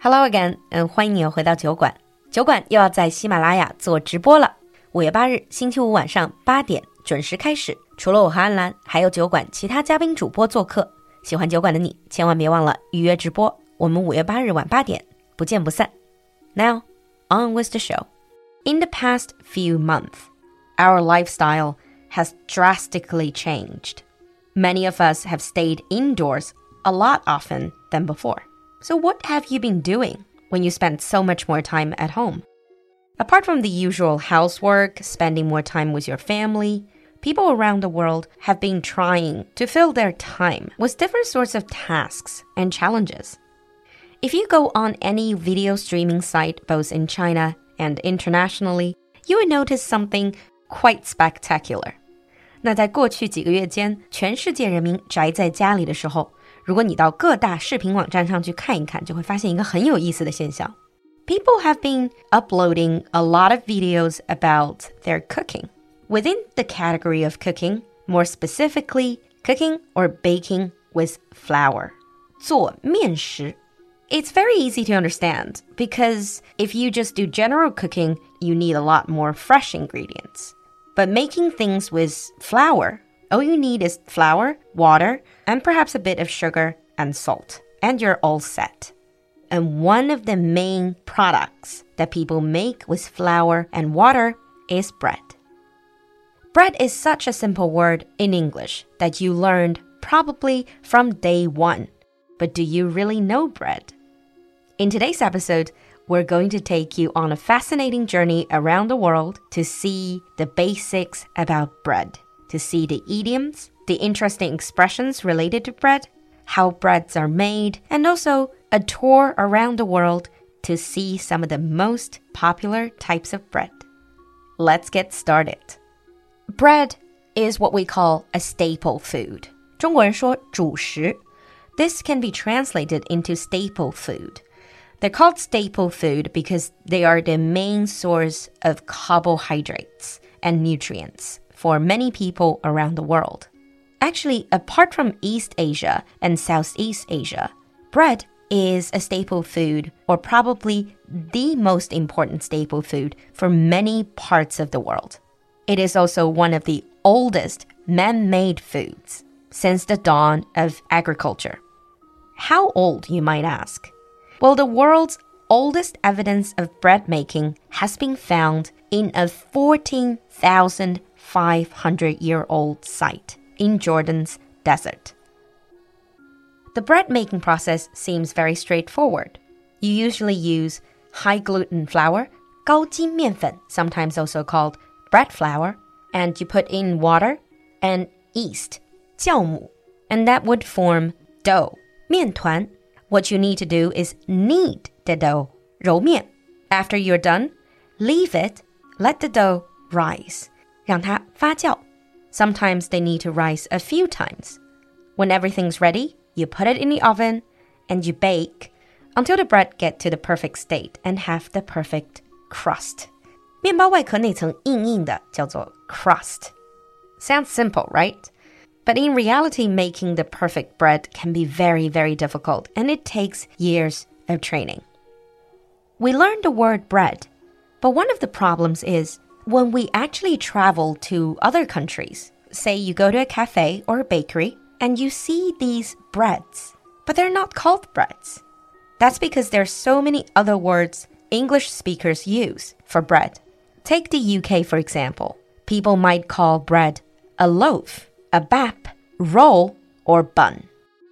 Hello again，欢迎你又回到酒馆。酒馆又要在喜马拉雅做直播了。5月8日星期五晚上8点准时开始。除了我和安兰，还有酒馆其他嘉宾主播做客。喜欢酒馆的你，千万别忘了预约直播。我们5月8日晚8点不见不散。Now, on with the show. In the past few months, our lifestyle has drastically changed. Many of us have stayed indoors a lot often than before.So what have you been doing when you spent so much more time at home? Apart from the usual housework, spending more time with your family, people around the world have been trying to fill their time with different sorts of tasks and challenges. If you go on any video streaming site, both in China and internationally, you will notice something quite spectacular. 那在过去几个月间，全世界人民宅在家里的时候，如果你到各大视频网站上去看一看，就会发现一个很有意思的现象。People have been uploading a lot of videos about their cooking. Within the category of cooking, more specifically, cooking or baking with flour. 做面食。It's very easy to understand because if you just do general cooking, you need a lot more fresh ingredients. But making things with flour,all you need is flour, water, and perhaps a bit of sugar and salt. And you're all set. And one of the main products that people make with flour and water is bread. Bread is such a simple word in English that you learned probably from day one. But do you really know bread? In today's episode, we're going to take you on a fascinating journey around the world to see the basics about bread.To see the idioms, the interesting expressions related to bread, how breads are made, and also a tour around the world to see some of the most popular types of bread. Let's get started. Bread is what we call a staple food. 中国人说主食. This can be translated into staple food. They're called staple food because they are the main source of carbohydrates and nutrients.For many people around the world. Actually, apart from East Asia and Southeast Asia, bread is a staple food, or probably the most important staple food for many parts of the world. It is also one of the oldest man-made foods since the dawn of agriculture. How old, you might ask? Well, the world's oldest evidence of bread making has been found in a 14,500-year-old site in Jordan's desert. The bread-making process seems very straightforward. You usually use high-gluten flour, 高筋面粉, sometimes also called bread flour, and you put in water and yeast, 酵母, and that would form dough, 面团. What you need to do is knead the dough, 揉面. After you're done, leave it, let the dough rise.让它发酵. Sometimes they need to rise a few times. When everything's ready, you put it in the oven and you bake until the bread gets to the perfect state and have the perfect crust. 面包外壳那层硬硬的叫做 crust. Sounds simple, right? But in reality, making the perfect bread can be very, very difficult, and it takes years of training. We learned the word bread, but one of the problems is,When we actually travel to other countries, say you go to a cafe or a bakery, and you see these breads, but they're not called breads. That's because there's so many other words English speakers use for bread. Take the UK, for example. People might call bread a loaf, a bap, roll, or bun.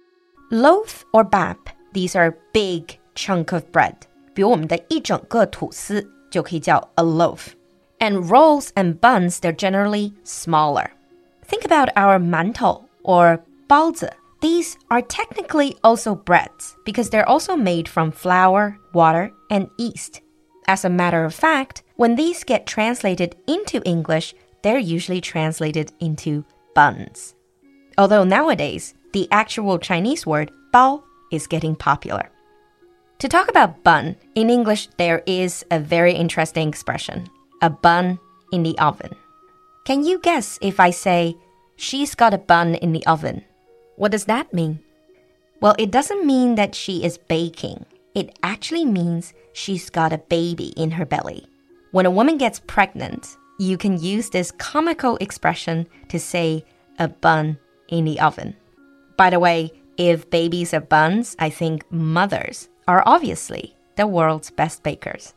Loaf or bap, these are big chunk of bread. 比如我们的一整个吐司就可以叫 a loaf.And rolls and buns, they're generally smaller. Think about our 馒头 or 包子. These are technically also breads because they're also made from flour, water, and yeast. As a matter of fact, when these get translated into English, they're usually translated into buns. Although nowadays, the actual Chinese word 包 is getting popular. To talk about bun, in English, there is a very interesting expression.A bun in the oven. Can you guess if I say, she's got a bun in the oven? What does that mean? Well, it doesn't mean that she is baking. it actually means she's got a baby in her belly. When a woman gets pregnant, you can use this comical expression to say a bun in the oven. By the way, if babies are buns, I think mothers are obviously the world's best bakers.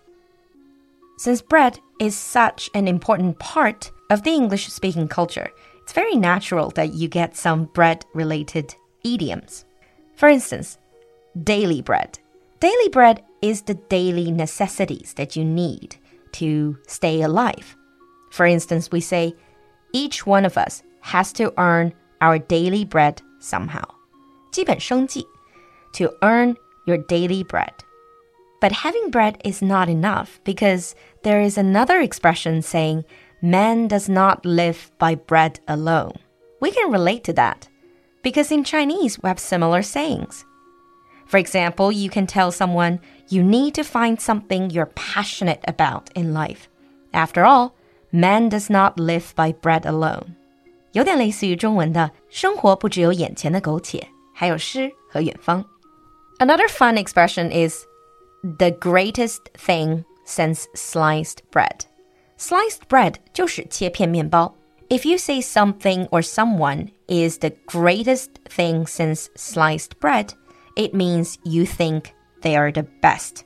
Since bread is such an important part of the English-speaking culture, it's very natural that you get some bread-related idioms. For instance, daily bread. Daily bread is the daily necessities that you need to stay alive. For instance, we say, each one of us has to earn our daily bread somehow. 基本生计, to earn your daily bread. But having bread is not enough because there is another expression saying, man does not live by bread alone. We can relate to that because in Chinese we have similar sayings. For example, you can tell someone you need to find something you're passionate about in life. After all, man does not live by bread alone. 有点类似于中文的生活不只有眼前的苟且，还有诗和远方。Another fun expression is the greatest thing since sliced bread. Sliced bread 就是切片面包。If you say something or someone is the greatest thing since sliced bread, it means you think they are the best.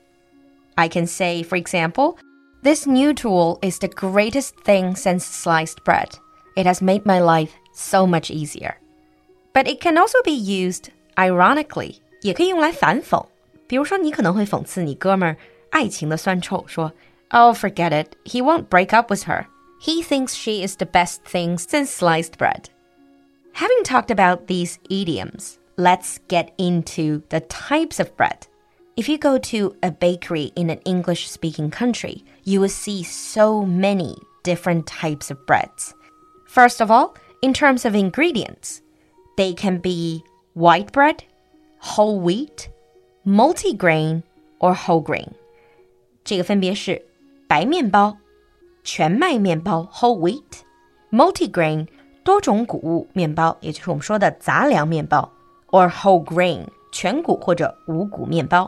I can say, for example, this new tool is the greatest thing since sliced bread. It has made my life so much easier. But it can also be used ironically. 也可以用来反讽。比如说你可能会讽刺你哥们儿爱情的酸臭，说 Oh, forget it. He won't break up with her. He thinks she is the best thing since sliced bread. Having talked about these idioms, let's get into the types of bread. If you go to a bakery in an English-speaking country, you will see so many different types of breads. First of all, in terms of ingredients, they can be white bread, whole wheat, multigrain, or whole grain. 这个分别是白面包、全麦面包 whole wheat, multigrain 多种谷物面包，也就是我们说的杂粮面包 or whole grain 全谷或者五谷面包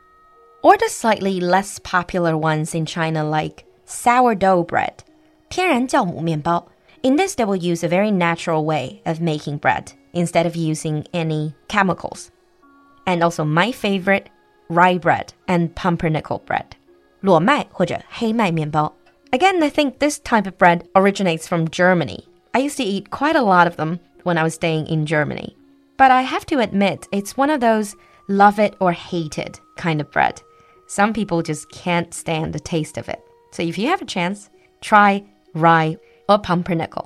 or the slightly less popular ones in China like sourdough bread 天然酵母面包 In this they will use a very natural way of making bread instead of using any chemicals. And also my favorite, rye bread and pumpernickel bread 裸麦或者黑麦面包 Again, I think this type of bread originates from Germany. I used to eat quite a lot of them when I was staying in Germany. But I have to admit, it's one of those love it or hate it kind of bread. Some people just can't stand the taste of it. So if you have a chance, try rye or pumpernickel.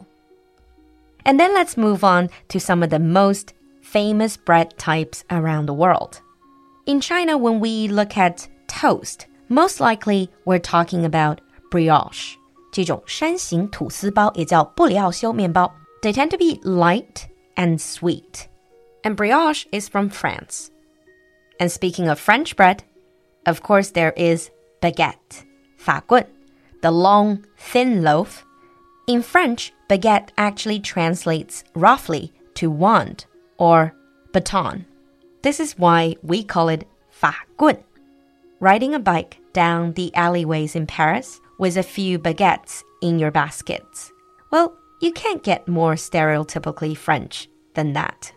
And then let's move on to some of the most famous bread types around the world. In China, when we look at toast, most likely we're talking about brioche. 这种山形吐司包也叫布里奥修面包 They tend to be light and sweet. And brioche is from France. And speaking of French bread, of course there is baguette, 法棍, the long, thin loaf. In French, baguette actually translates roughly to wand or baton. This is why we call it 法棍. Riding a bike down the alleyways in Paris with a few baguettes in your baskets. Well, you can't get more stereotypically French than that.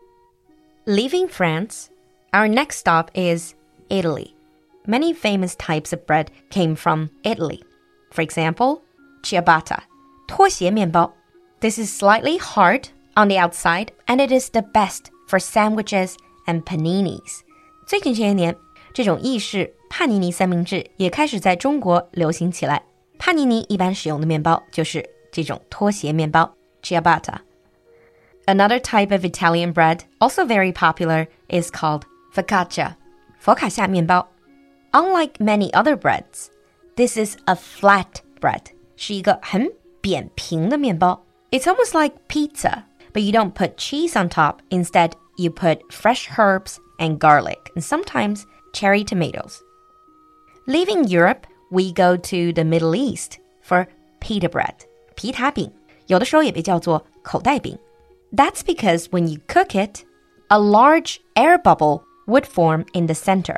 Leaving France, our next stop is Italy. Many famous types of bread came from Italy. For example, ciabatta, 拖鞋面包. This is slightly hard on the outside, and it is the best for sandwiches and paninis. 最近些年，这种意式帕尼尼三明治也开始在中国流行起来。帕尼尼一般使用的面包就是这种拖鞋面包 ciabatta. Another type of Italian bread, also very popular, is called focaccia, 佛卡夏面包. Unlike many other breads, this is a flat bread, 是一个很扁平的面包. It's almost like pizza, but you don't put cheese on top. Instead, you put fresh herbs and garlic, and sometimes cherry tomatoes. Leaving Europe, we go to the Middle East for pita bread, 皮塔饼，有的时候也被叫做口袋饼. That's because when you cook it, a large air bubble would form in the center,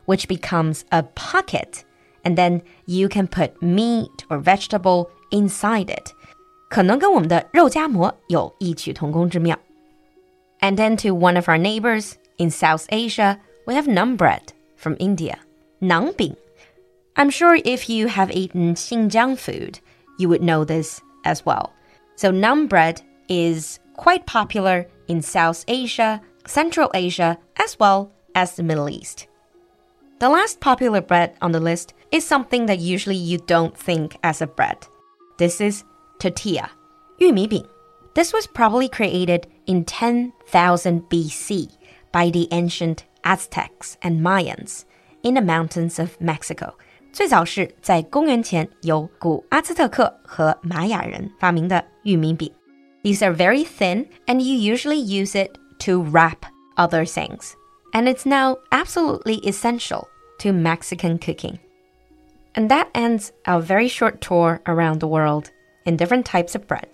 which becomes a pocket, and then you can put meat or vegetable inside it. 可能跟我们的肉夹馍有异曲同工之妙。And then to one of our neighbors in South Asia, we have naan bread from India. 馕饼. I'm sure if you have eaten Xinjiang food, you would know this as well. So naan bread is quite popular in South Asia, Central Asia, as well as the Middle East. The last popular bread on the list is something that usually you don't think as a bread. This is tortilla, 玉米饼. This was probably created in 10,000 BC by the ancient Aztecs and Mayans in the mountains of Mexico. 最早是在公元前由古阿兹特克和玛雅人发明的玉米饼. These are very thin and you usually use it to wrap other things. And it's now absolutely essential to Mexican cooking. And that ends our very short tour around the world in different types of bread.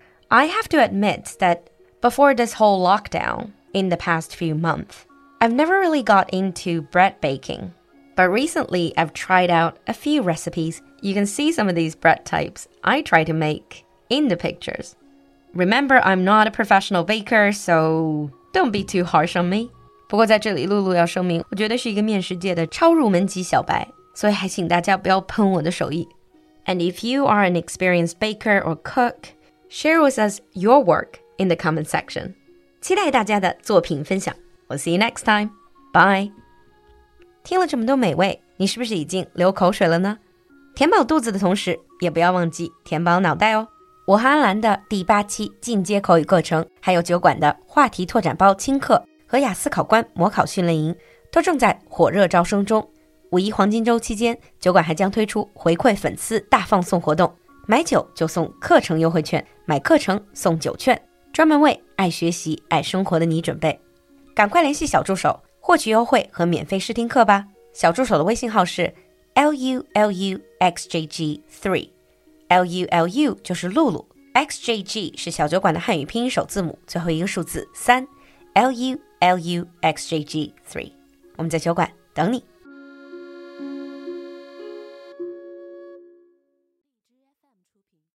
I have to admit that before this whole lockdown in the past few months, I've never really got into bread baking. But recently, I've tried out a few recipes. You can see some of these bread types I try to make in the pictures. Remember, I'm not a professional baker, so don't be too harsh on me. 不过在这里，露露要声明，我绝对是一个面食界的超入门级小白，所以还请大家不要喷我的手艺。And if you are an experienced baker or cook, share with us your work in the comment section. 期待大家的作品分享。We'll see you next time. Bye. 听了这么多美味，你是不是已经流口水了呢？填饱肚子的同时，也不要忘记填饱脑袋哦。我和安兰的第8期进阶口语课程，还有酒馆的话题拓展包轻课和雅思考官模考训练营，都正在火热招生中。5·1黄金周期间，酒馆还将推出回馈粉丝大放送活动，买酒就送课程优惠券，买课程送酒券，专门为爱学习、爱生活的你准备。赶快联系小助手，获取优惠和免费试听课吧。小助手的微信号是 LULUXJG3， LULU 就是露露， XJG 是小酒馆的汉语拼音首字母，最后一个数字3， LULUXJG3。我们在酒馆等你。